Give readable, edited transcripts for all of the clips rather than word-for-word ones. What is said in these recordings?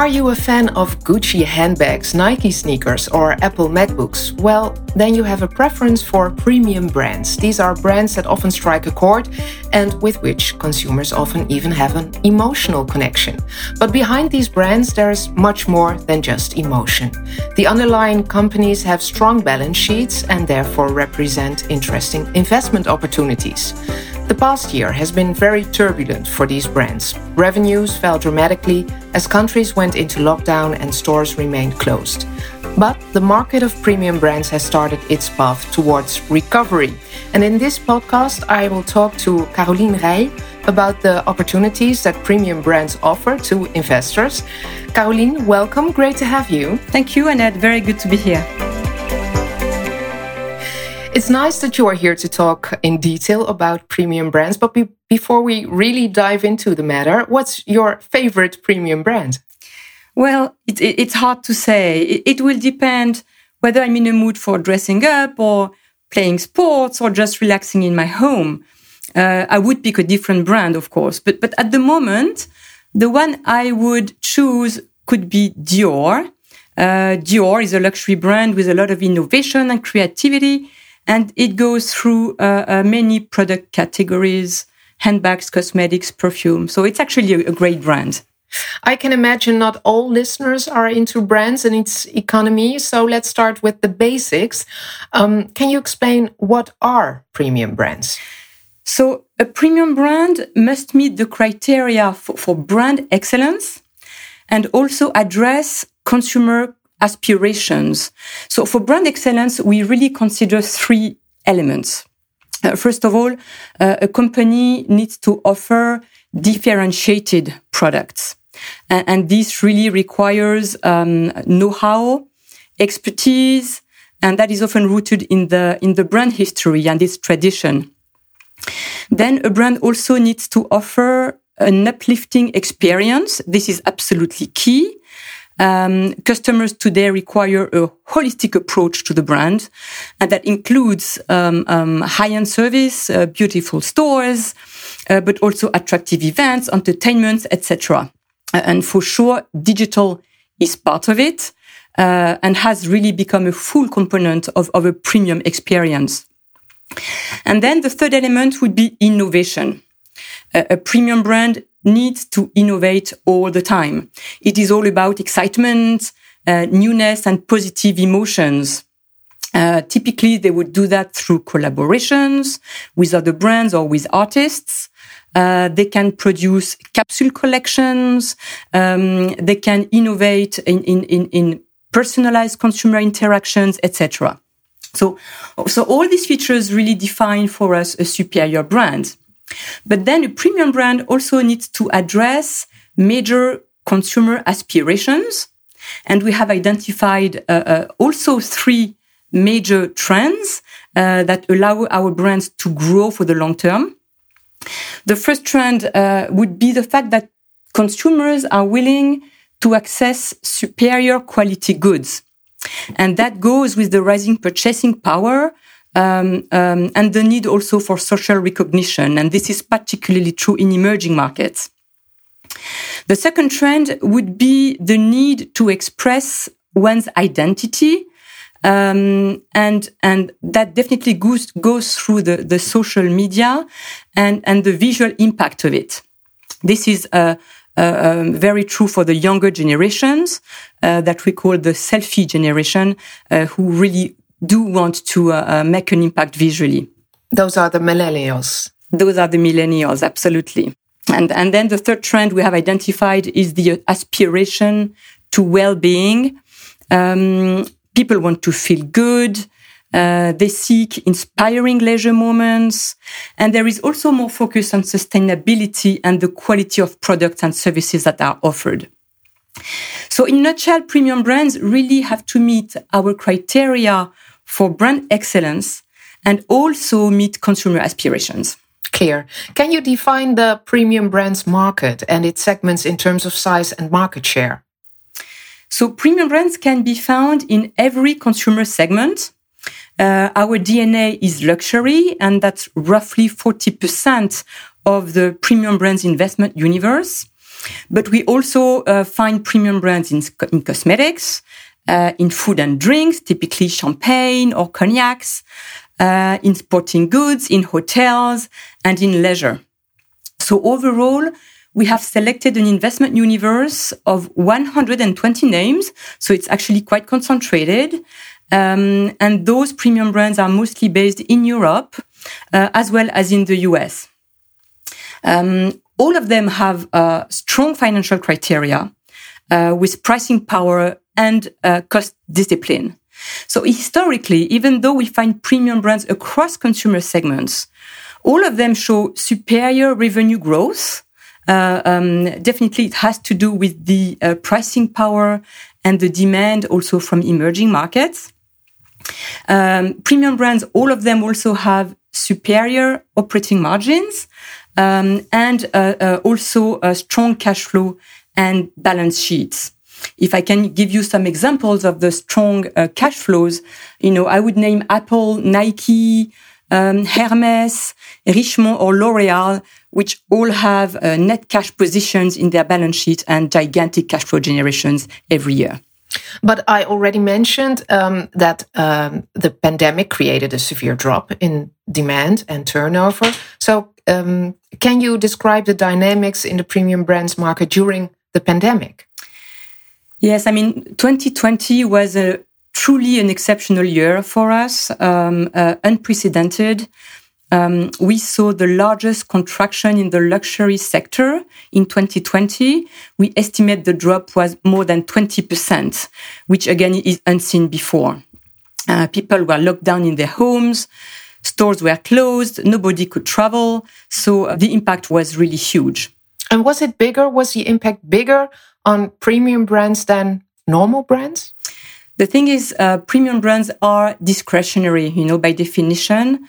Are you a fan of Gucci handbags, Nike sneakers, or Apple MacBooks? Well, then you have a preference for premium brands. These are brands that often strike a chord and with which consumers often even have an emotional connection. But behind these brands, there is much more than just emotion. The underlying companies have strong balance sheets and therefore represent interesting investment opportunities. The past year has been very turbulent for these brands. Revenues fell dramatically as countries went into lockdown and stores remained closed. But the market of premium brands has started its path towards recovery. And in this podcast, I will talk to Caroline Rey about the opportunities that premium brands offer to investors. Caroline, welcome. Great to have you. Thank you, Annette. Very good to be here. It's nice that you are here to talk in detail about premium brands, but before we really dive into the matter, what's your favorite premium brand? Well, it's hard to say. It will depend whether I'm in a mood for dressing up or playing sports or just relaxing in my home. I would pick a different brand, of course, but at the moment, the one I would choose could be Dior. Dior is a luxury brand with a lot of innovation and creativity. And it goes through many product categories, handbags, cosmetics, perfume. So it's actually a great brand. I can imagine not all listeners are into brands and its economy. So let's start with the basics. Can you explain what are premium brands? So a premium brand must meet the criteria for brand excellence and also address consumer aspirations. So for brand excellence, we really consider three elements. First of all, a company needs to offer differentiated products. And this really requires know-how, expertise, and that is often rooted in the brand history and its tradition. Then a brand also needs to offer an uplifting experience. This is absolutely key. Customers today require a holistic approach to the brand, and that includes high-end service, beautiful stores, but also attractive events, entertainment, etc. And for sure, digital is part of it and has really become a full component of a premium experience. And then the third element would be innovation. A premium brand needs to innovate all the time. It is all about excitement, newness, and positive emotions. Typically, they would do that through collaborations with other brands or with artists. They can produce capsule collections. They can innovate in personalized consumer interactions, etc. So all these features really define for us a superior brand. But then a premium brand also needs to address major consumer aspirations. And we have identified also three major trends that allow our brands to grow for the long term. The first trend would be the fact that consumers are willing to access superior quality goods. And that goes with the rising purchasing power and the need also for social recognition. And this is particularly true in emerging markets. The second trend would be the need to express one's identity. And that definitely goes through the social media and the visual impact of it. This is very true for the younger generations that we call the selfie generation, who really do want to make an impact visually. Those are the millennials. Those are the millennials, absolutely. And then the third trend we have identified is the aspiration to well-being. People want to feel good. They seek inspiring leisure moments. And there is also more focus on sustainability and the quality of products and services that are offered. So in a nutshell, premium brands really have to meet our criteria for brand excellence and also meet consumer aspirations. Clear. Can you define the premium brands market and its segments in terms of size and market share? So premium brands can be found in every consumer segment. Our DNA is luxury, and that's roughly 40% of the premium brands investment universe. But we also find premium brands in cosmetics, in food and drinks, typically champagne or cognacs, in sporting goods, in hotels, and in leisure. So overall, we have selected an investment universe of 120 names. So it's actually quite concentrated. And those premium brands are mostly based in Europe, as well as in the US. All of them have strong financial criteria with pricing power and cost discipline. So historically, even though we find premium brands across consumer segments, all of them show superior revenue growth. Definitely, it has to do with the pricing power and the demand also from emerging markets. Premium brands, all of them also have superior operating margins and also a strong cash flow and balance sheets. If I can give you some examples of the strong cash flows, I would name Apple, Nike, Hermes, Richemont, or L'Oréal, which all have net cash positions in their balance sheet and gigantic cash flow generations every year. But I already mentioned that the pandemic created a severe drop in demand and turnover. So can you describe the dynamics in the premium brands market during the pandemic? Yes, 2020 was truly an exceptional year for us, unprecedented. We saw the largest contraction in the luxury sector in 2020. We estimate the drop was more than 20%, which again is unseen before. People were locked down in their homes, stores were closed, nobody could travel. So the impact was really huge. And was the impact bigger on premium brands than normal brands? The thing is, premium brands are discretionary, by definition.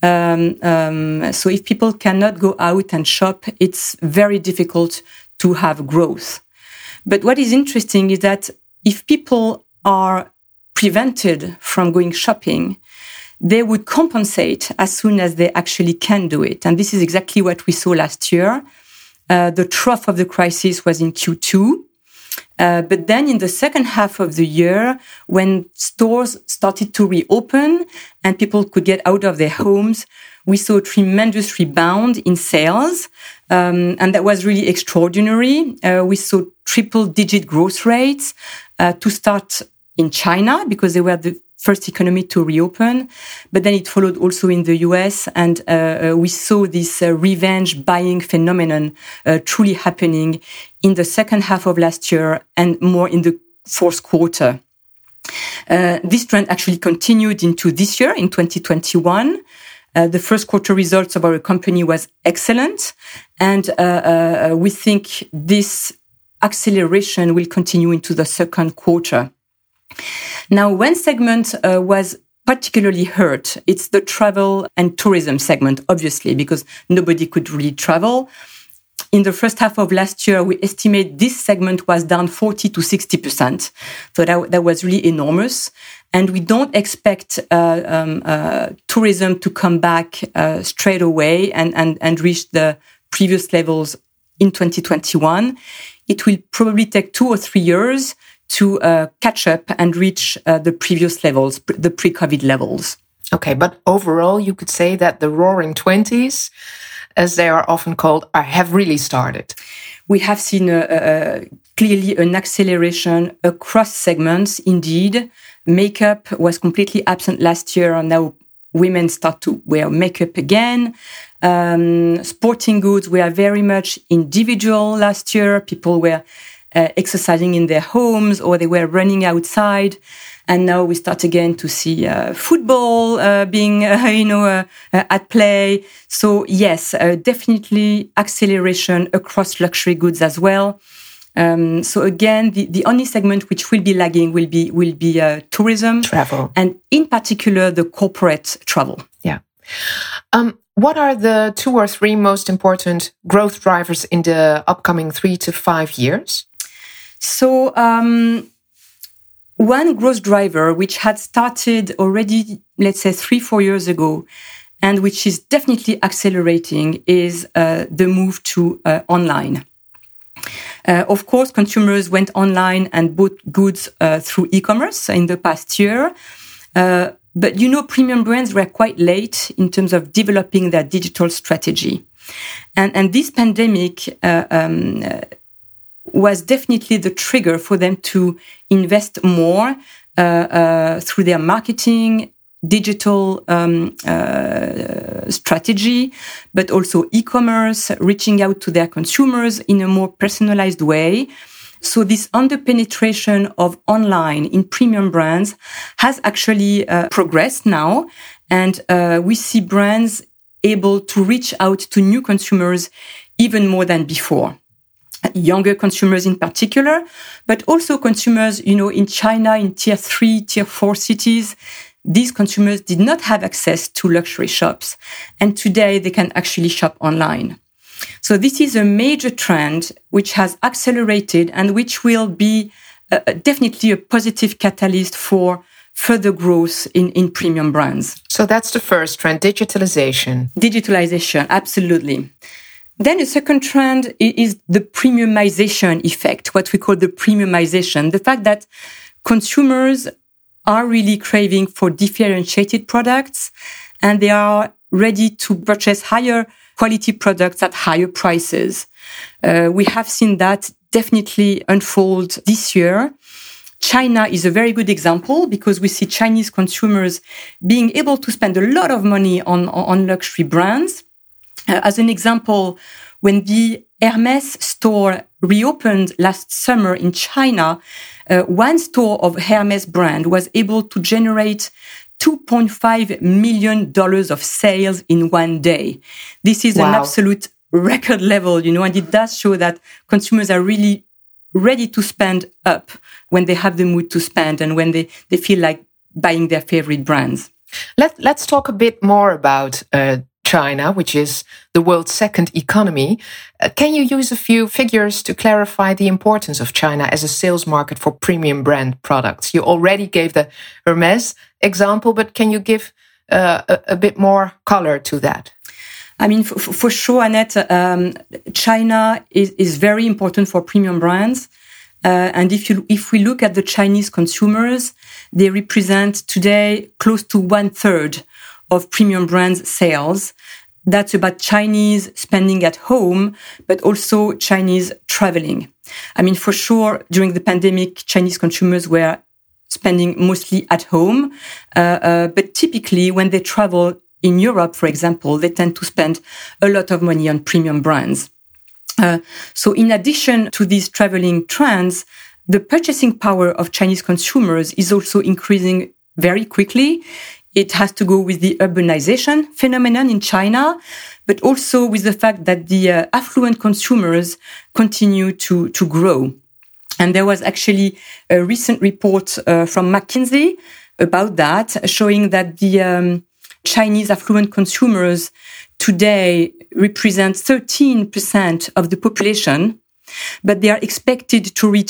So if people cannot go out and shop, it's very difficult to have growth. But what is interesting is that if people are prevented from going shopping, they would compensate as soon as they actually can do it. And this is exactly what we saw last year. The trough of the crisis was in Q2. But then in the second half of the year, when stores started to reopen and people could get out of their homes, we saw a tremendous rebound in sales. And that was really extraordinary. We saw triple-digit growth rates to start in China because they were the first economy to reopen. But then it followed also in the US. And we saw this revenge buying phenomenon truly happening in the second half of last year and more in the fourth quarter. This trend actually continued into this year, in 2021. The first quarter results of our company was excellent. And we think this acceleration will continue into the second quarter. Now, one segment was particularly hurt. It's the travel and tourism segment, obviously, because nobody could really travel. In the first half of last year, we estimate this segment was down 40 to 60%. So that was really enormous. And we don't expect tourism to come back straight away and reach the previous levels in 2021. It will probably take 2 or 3 years to catch up and reach the previous levels, the pre-COVID levels. Okay, but overall, you could say that the Roaring 20s, as they are often called, have really started. We have seen clearly an acceleration across segments, indeed. Makeup was completely absent last year, and now women start to wear makeup again. Sporting goods were very much individual last year. People were exercising in their homes or they were running outside. And now we start again to see football being, at play. So yes, definitely acceleration across luxury goods as well. So again, the only segment which will be lagging will be tourism, travel, and in particular the corporate travel. Yeah. What are the 2 or 3 most important growth drivers in the upcoming 3 to 5 years? So one growth driver which had started already, let's say 3-4 years ago, and which is definitely accelerating is the move to online. Of course, consumers went online and bought goods through e-commerce in the past year. But, premium brands were quite late in terms of developing their digital strategy. And this pandemic was definitely the trigger for them to invest more through their marketing, digital strategy, but also e-commerce, reaching out to their consumers in a more personalized way. So this under-penetration of online in premium brands has actually progressed now. And we see brands able to reach out to new consumers even more than before. Younger consumers in particular, but also consumers, in China, in tier 3, tier 4 cities. These consumers did not have access to luxury shops. And today they can actually shop online. So this is a major trend which has accelerated and which will be definitely a positive catalyst for further growth in premium brands. So that's the first trend, digitalization. Digitalization, absolutely. Then a second trend is the premiumization effect, what we call the premiumization. The fact that consumers are really craving for differentiated products and they are ready to purchase higher quality products at higher prices. We have seen that definitely unfold this year. China is a very good example because we see Chinese consumers being able to spend a lot of money on luxury brands. As an example, when the Hermès store reopened last summer in China, one store of Hermès brand was able to generate $2.5 million of sales in one day. This is an absolute record level, and it does show that consumers are really ready to spend up when they have the mood to spend and when they feel like buying their favorite brands. Let's talk a bit more about China, which is the world's second economy. Can you use a few figures to clarify the importance of China as a sales market for premium brand products? You already gave the Hermès example, but can you give a bit more color to that? I mean, for sure, Annette, China is very important for premium brands. And if we look at the Chinese consumers, they represent today close to 1/3 of premium brands sales. That's about Chinese spending at home, but also Chinese traveling. I mean, for sure, during the pandemic, Chinese consumers were spending mostly at home. But typically, when they travel in Europe, for example, they tend to spend a lot of money on premium brands. So in addition to these traveling trends, the purchasing power of Chinese consumers is also increasing very quickly. It has to go with the urbanization phenomenon in China, but also with the fact that the affluent consumers continue to grow. And there was actually a recent report from McKinsey about that, showing that the Chinese affluent consumers today represent 13% of the population, but they are expected to reach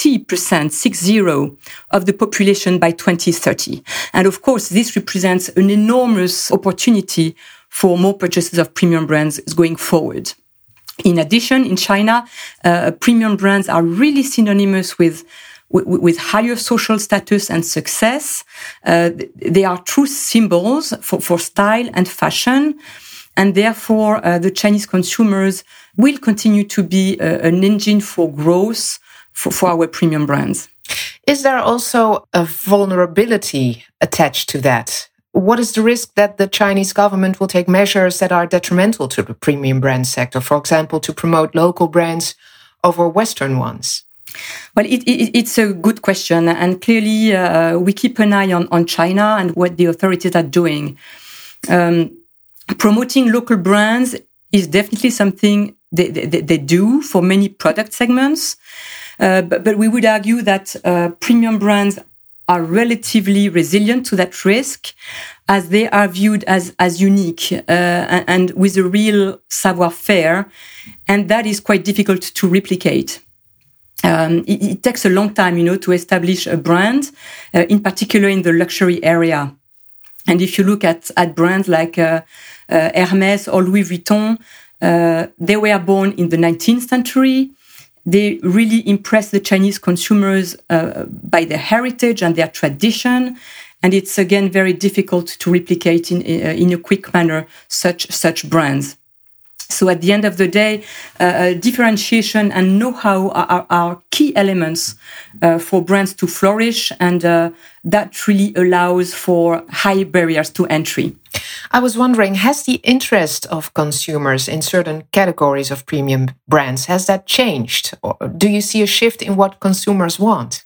60% of the population by 2030. And of course, this represents an enormous opportunity for more purchases of premium brands going forward. In addition, in China, premium brands are really synonymous with higher social status and success. They are true symbols for style and fashion. And therefore, the Chinese consumers will continue to be an engine for growth for our premium brands. Is there also a vulnerability attached to that? What is the risk that the Chinese government will take measures that are detrimental to the premium brand sector, for example, to promote local brands over Western ones? Well, it's a good question. And clearly, we keep an eye on China and what the authorities are doing. Promoting local brands is definitely something they do for many product segments. But we would argue that premium brands are relatively resilient to that risk as they are viewed as unique and with a real savoir-faire. And that is quite difficult to replicate. It takes a long time, to establish a brand, in particular in the luxury area. And if you look at brands like Hermès or Louis Vuitton, they were born in the 19th century. They really impress the Chinese consumers by their heritage and their tradition. And it's, again, very difficult to replicate in a quick manner such brands. So at the end of the day, differentiation and know-how are key elements for brands to flourish, and that really allows for high barriers to entry. I was wondering, has the interest of consumers in certain categories of premium brands, has that changed? Or do you see a shift in what consumers want?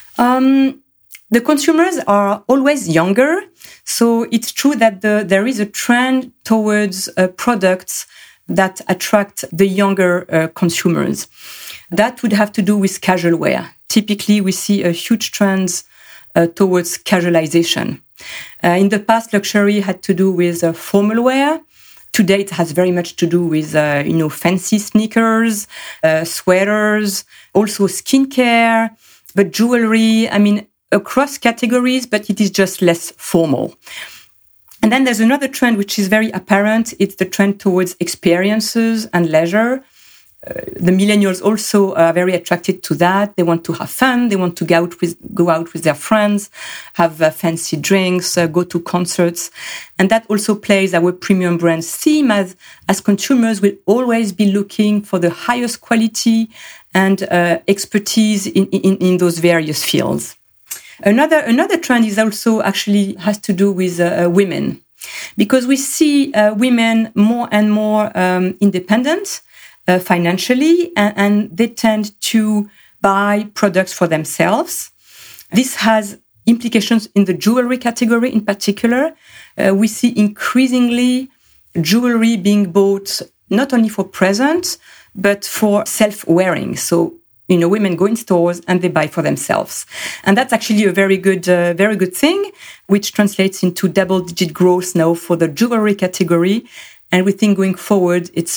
The consumers are always younger. So it's true that there is a trend towards products that attract the younger consumers. That would have to do with casual wear. Typically, we see a huge trend towards casualization. In the past, luxury had to do with formal wear. Today, it has very much to do with fancy sneakers, sweaters, also skincare, but jewelry. I mean, across categories, but it is just less formal. And then there's another trend which is very apparent. It's the trend towards experiences and leisure. The millennials also are very attracted to that. They want to have fun. They want to go out with their friends, have fancy drinks, go to concerts. And that also plays our premium brands theme as consumers will always be looking for the highest quality and expertise in those various fields. Another trend is also actually has to do with women, because we see women more and more independent financially, and they tend to buy products for themselves. This has implications in the jewelry category in particular. We see increasingly jewelry being bought not only for presents, but for self-wearing. So women go in stores and they buy for themselves. And that's actually a very good thing, which translates into double-digit growth now for the jewelry category. And we think going forward, this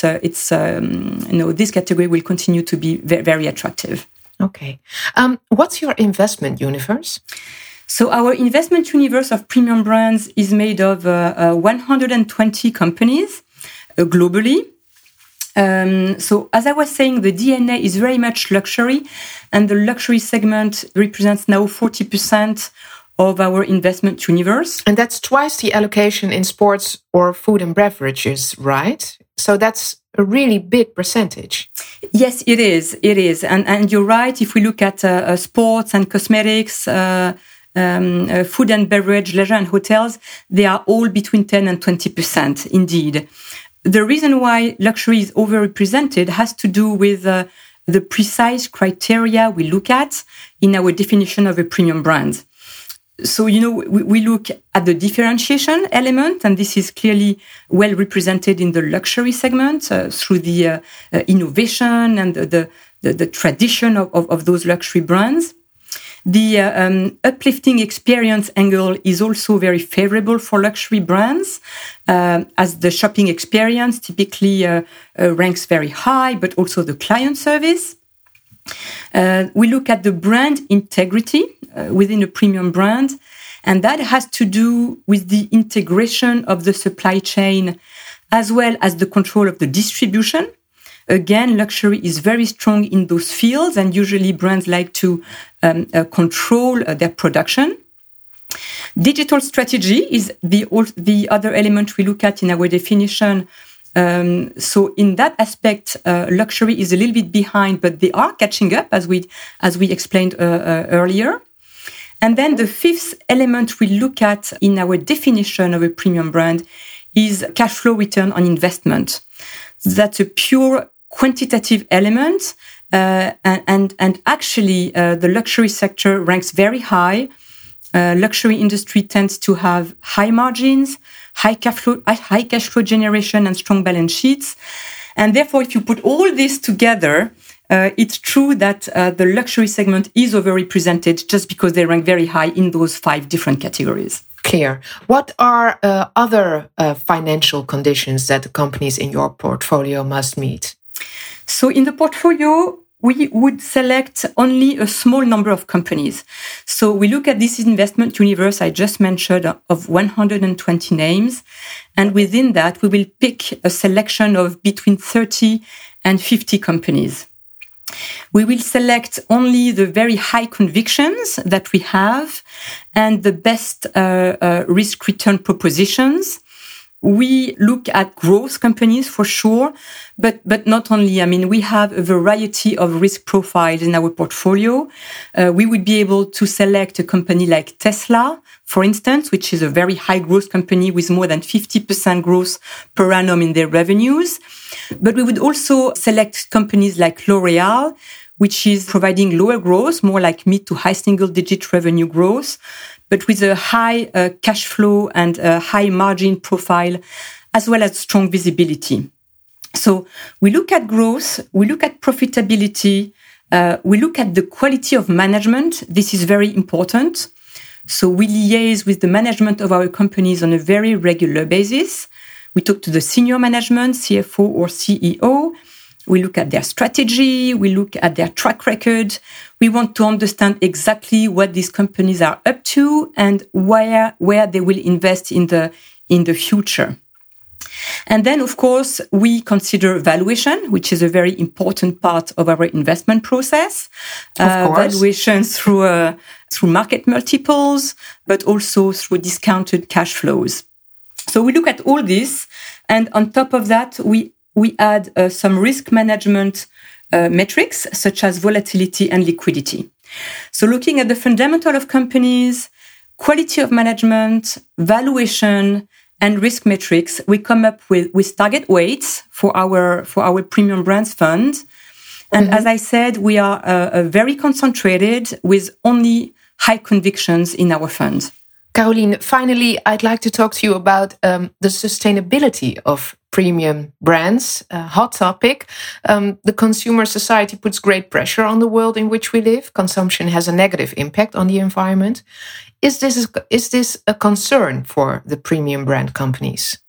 category will continue to be very attractive. Okay. What's your investment universe? So our investment universe of premium brands is made of 120 companies globally. So as I was saying, the DNA is very much luxury, and the luxury segment represents now 40% of our investment universe. And that's twice the allocation in sports or food and beverages, right? So that's a really big percentage. Yes, it is. It is. And you're right. If we look at sports and cosmetics, food and beverage, leisure and hotels, they are all between 10 and 20%, indeed. The reason why luxury is overrepresented has to do with the precise criteria we look at in our definition of a premium brand. So, we look at the differentiation element, and this is clearly well represented in the luxury segment through the innovation and the tradition of those luxury brands. The uplifting experience angle is also very favorable for luxury brands, as the shopping experience typically ranks very high, but also the client service. We look at the brand integrity within a premium brand, and that has to do with the integration of the supply chain as well as the control of the distribution. Again, luxury is very strong in those fields, and usually brands like to control their production. Digital strategy is the other element we look at in our definition. So in that aspect, luxury is a little bit behind, but they are catching up, as we explained earlier. And then the fifth element we look at in our definition of a premium brand is cash flow return on investment. That's a pure quantitative element, and actually the luxury sector ranks very high. Luxury industry tends to have high margins, high cash flow generation, and strong balance sheets. And therefore, if you put all this together, it's true that the luxury segment is overrepresented just because they rank very high in those 5 different categories. Clear. What are other financial conditions that the companies in your portfolio must meet? So in the portfolio, we would select only a small number of companies. So we look at this investment universe I just mentioned of 120 names. And within that, we will pick a selection of between 30 and 50 companies. We will select only the very high convictions that we have and the best risk-return propositions. We look at growth companies for sure, but not only. I mean, we have a variety of risk profiles in our portfolio. We would be able to select a company like Tesla, for instance, which is a very high growth company with more than 50% growth per annum in their revenues. But we would also select companies like L'Oréal, which is providing lower growth, more like mid to high single-digit revenue growth, but with a high cash flow and a high margin profile, as well as strong visibility. So we look at growth, we look at profitability, we look at the quality of management. This is very important. So we liaise with the management of our companies on a very regular basis. We talk to the senior management, CFO or CEO. We look at their strategy. We look at their track record. We want to understand exactly what these companies are up to and where they will invest in the future. And then, of course, we consider valuation, which is a very important part of our investment process. Valuation through market multiples, but also through discounted cash flows. So we look at all this, and on top of that, we add some risk management metrics, such as volatility and liquidity. So looking at the fundamental of companies, quality of management, valuation, and risk metrics, we come up with target weights for our premium brands fund. And as I said, we are very concentrated with only high convictions in our fund. Caroline, finally, I'd like to talk to you about the sustainability of premium brands, a hot topic. The consumer society puts great pressure on the world in which we live. Consumption has a negative impact on the environment. Is this a concern for the premium brand companies?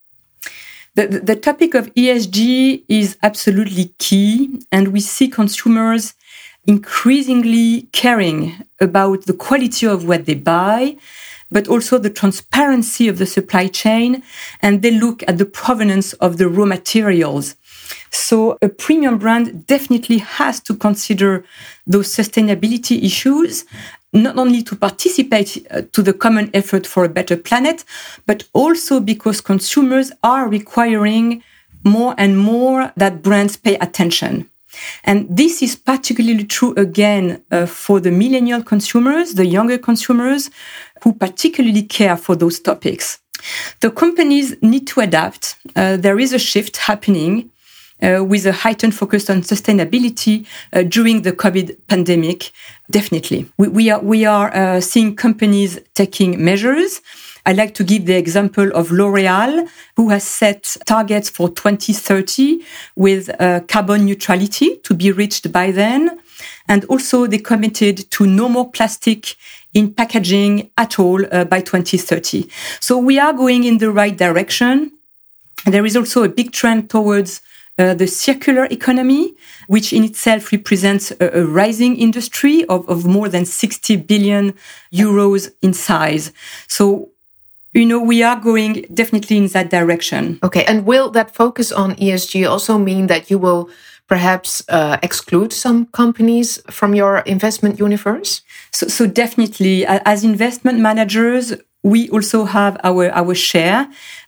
The topic of ESG is absolutely key, and we see consumers increasingly caring about the quality of what they buy, but also the transparency of the supply chain, and they look at the provenance of the raw materials. So a premium brand definitely has to consider those sustainability issues, not only to participate to the common effort for a better planet, but also because consumers are requiring more and more that brands pay attention. And this is particularly true, again, for the millennial consumers, the younger consumers, who particularly care for those topics. The companies need to adapt. There is a shift happening with a heightened focus on sustainability during the COVID pandemic, definitely. We are seeing companies taking measures. I like to give the example of L'Oréal, who has set targets for 2030 with carbon neutrality to be reached by then. And also they committed to no more plastic in packaging at all by 2030. So we are going in the right direction. There is also a big trend towards the circular economy, which in itself represents a rising industry of more than 60 billion euros in size. So, we are going definitely in that direction. Okay. And will that focus on ESG also mean that you will perhaps exclude some companies from your investment universe? So definitely, as investment managers, we also have our share.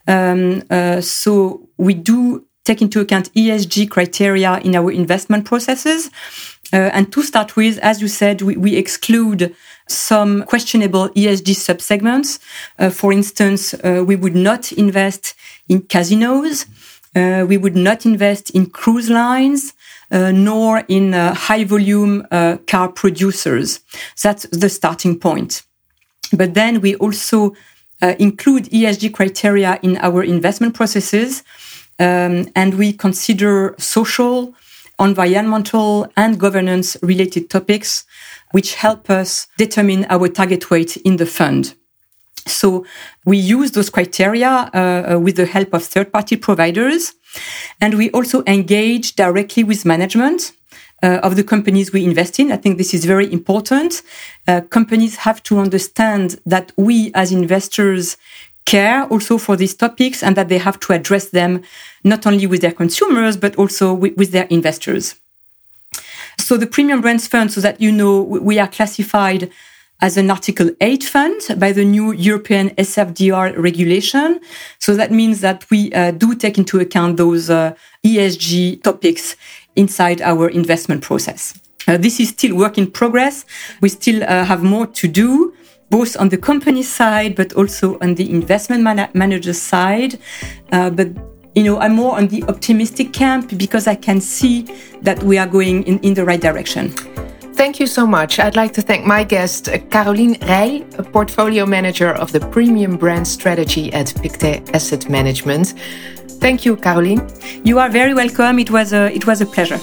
So we do take into account ESG criteria in our investment processes. And to start with, as you said, we exclude some questionable ESG subsegments. For instance, we would not invest in casinos. We would not invest in cruise lines, nor in high-volume car producers. That's the starting point. But then we also include ESG criteria in our investment processes, and we consider social, environmental, and governance-related topics, which help us determine our target weight in the fund. So we use those criteria with the help of third-party providers, and we also engage directly with management of the companies we invest in. I think this is very important. Companies have to understand that we as investors care also for these topics and that they have to address them not only with their consumers, but also with their investors. So the Premium Brands Fund, so that you know, we are classified as an Article 8 fund by the new European SFDR regulation. So that means that we do take into account those ESG topics inside our investment process. This is still work in progress. We still have more to do, both on the company side, but also on the investment manager side. But I'm more on the optimistic camp because I can see that we are going in the right direction. Thank you so much. I'd like to thank my guest, Caroline Rey, a portfolio manager of the Premium Brand Strategy at Pictet Asset Management. Thank you, Caroline. You are very welcome. It was a pleasure.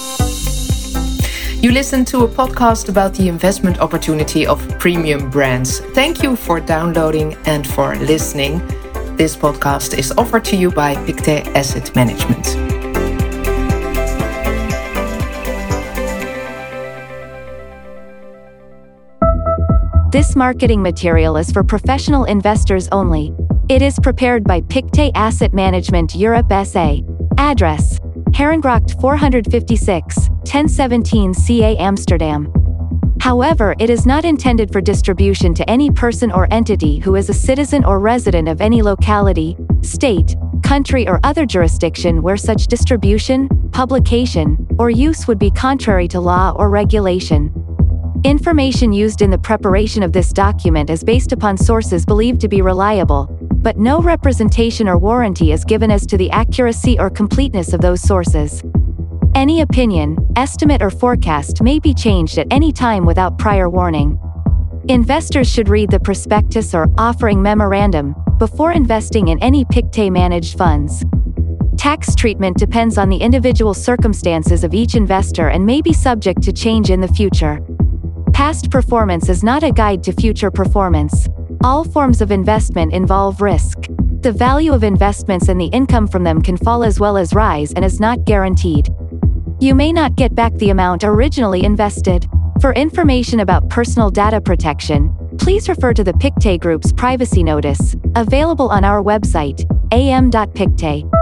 You listened to a podcast about the investment opportunity of premium brands. Thank you for downloading and for listening. This podcast is offered to you by Pictet Asset Management. This marketing material is for professional investors only. It is prepared by Pictet Asset Management Europe SA. Address: Herengracht 456, 1017 CA Amsterdam. However, it is not intended for distribution to any person or entity who is a citizen or resident of any locality, state, country or other jurisdiction where such distribution, publication, or use would be contrary to law or regulation. Information used in the preparation of this document is based upon sources believed to be reliable, but no representation or warranty is given as to the accuracy or completeness of those sources. Any opinion, estimate or forecast may be changed at any time without prior warning. Investors should read the prospectus or offering memorandum before investing in any Pictet-managed funds. Tax treatment depends on the individual circumstances of each investor and may be subject to change in the future. Past performance is not a guide to future performance. All forms of investment involve risk. The value of investments and the income from them can fall as well as rise and is not guaranteed. You may not get back the amount originally invested. For information about personal data protection, please refer to the Pictet Group's privacy notice, available on our website, am.pictet.